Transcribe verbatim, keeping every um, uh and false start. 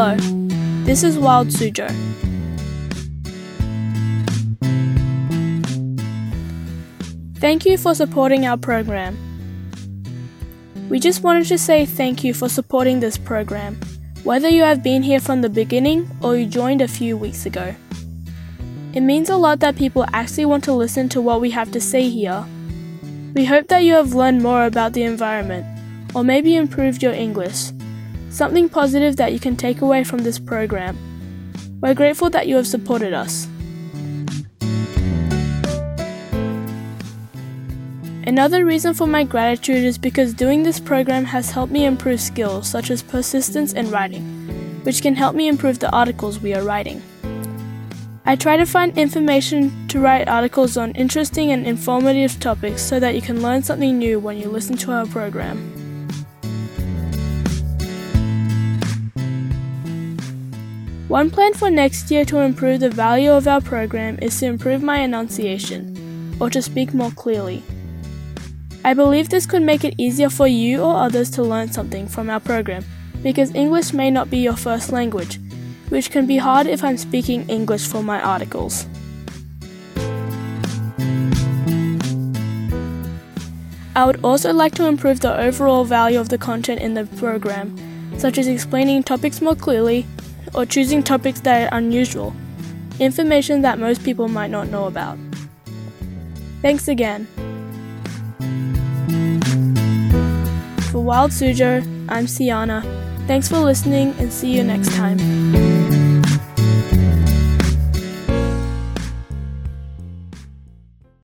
Hello, this is Wild Suzhou. Thank you for supporting our program. We just wanted to say thank you for supporting this program, whether you have been here from the beginning or you joined a few weeks ago. It means a lot that people actually want to listen to what we have to say here. We hope that you have learned more about the environment, or maybe improved your English, something positive that you can take away from this program. We're grateful that you have supported us. Another reason for my gratitude is because doing this program has helped me improve skills such as persistence and writing, which can help me improve the articles we are writing. I try to find information to write articles on interesting and informative topics so that you can learn something new when you listen to our program. One plan for next year to improve the value of our program is to improve my enunciation, or to speak more clearly. I believe this could make it easier for you or others to learn something from our program, because English may not be your first language, which can be hard if I'm speaking English for my articles. I would also like to improve the overall value of the content in the program, such as explaining topics more clearly, or choosing topics that are unusual, information that most people might not know about. Thanks again. For Wild Suzhou, I'm Siana. Thanks for listening and see you next time.